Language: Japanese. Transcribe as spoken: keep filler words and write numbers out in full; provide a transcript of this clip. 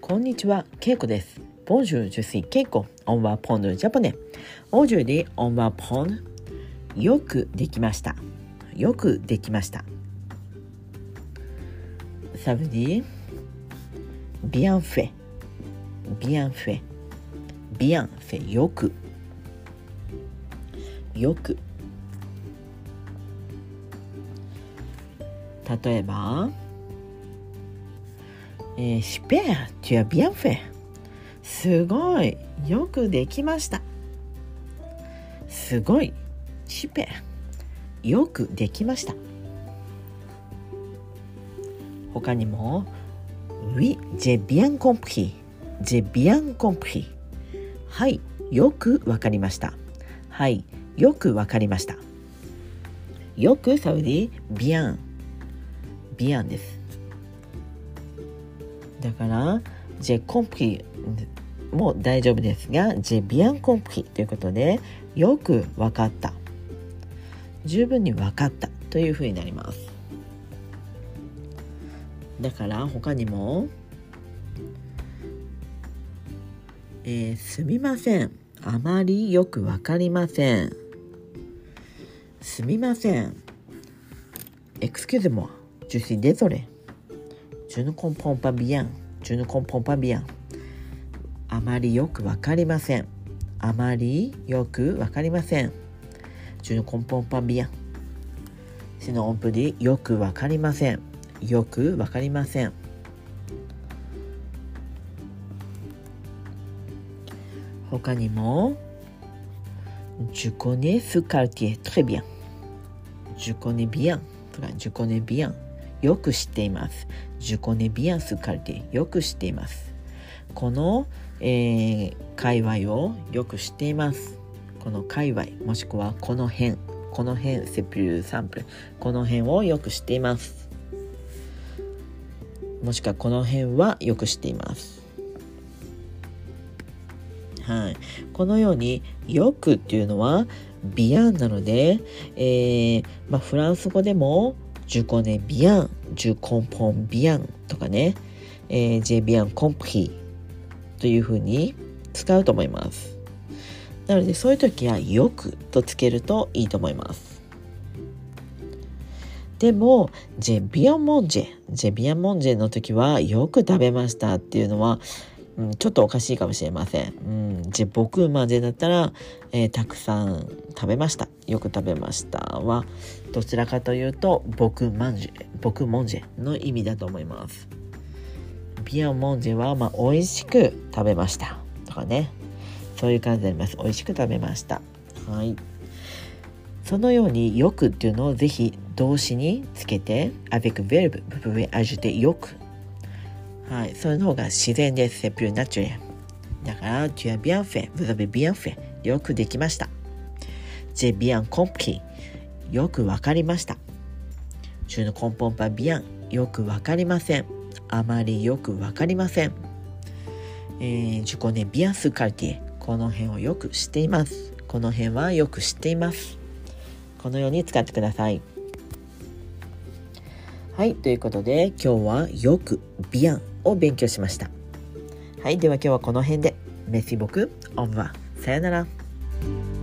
こんにちは、ケイコです。Bonjour, je suis Keiko. On va prendre le japonais. Aujourd'hui, on va prendre よくできました。よくできました。Ça veut dire bien fait. Bien fait. Bien fait. よく。よく。例えば、えー、Super, tu as bien fait. すごい、よくできました。すごい、Super, よくできました。他にも、Oui, j'ai bien compris. J'ai bien compris. はい、よくわかりました。はい、よくわかりました。よくサウディ、bien。bien です。だから、j'ai compris も大丈夫ですが、j'ai bien compris ということで、よくわかった。十分にわかったというふうになります。だから他にも、えー、すみません。あまりよくわかりません。すみません。Excusez-moi, je suis désolé. Je ne comprends pas bien. Je ne comprends pas bien. あまりよくわかりません。あまりよくわかりません。Je ne comprends pas bien. Sinon on peut dire よくわかりません。よくわかりません。他にも Je connais ce quartier très bien. Je connais bien. とか Je connais bien. よく知っています。Je connais bien ce quartier. よく知っています。この、えー、界隈をよく知っています。この界隈もしくはこの辺。この辺 c'est plus simple. この辺をよく知っています。もしくはこの辺はよく知っています。はい。このようによくっていうのはビアンなので、えーまあ、フランス語でもJe connais bien, je comprends bien とかね、えー、j'ai bien compris というふうに使うと思います。なのでそういう時はよくとつけるといいと思います。でも j'ai bien mangé, j'ai bien mangé の時はよく食べましたっていうのは、うん、ちょっとおかしいかもしれません。うん、j'ai beaucoup mangé だったら、えー、たくさん食べました。よく食べましたはどちらかというと僕マンジェ、僕モンジェの意味だと思います。ビアンモンジェはまあ美味しく食べましたとかね、そういう感じになります。美味しく食べました。はい。そのようによくっていうのをぜひ動詞につけて avec verbe vous pouvez ajouter よく。はい、その方が自然です。c'est plus naturel。だから tu as bien fait, vous avez bien fait。よくできました。j'ai bien compris。よくわかりました。Je ne comprends pas bien。よくわかりません。あまりよくわかりません。えー、je connais bien ce quartier。この辺をよく知っています。この辺はよく知っています。このように使ってください。はい、ということで今日はよく bien を勉強しました。はい、では今日はこの辺で。Merci beaucoup。Au revoir。さよなら。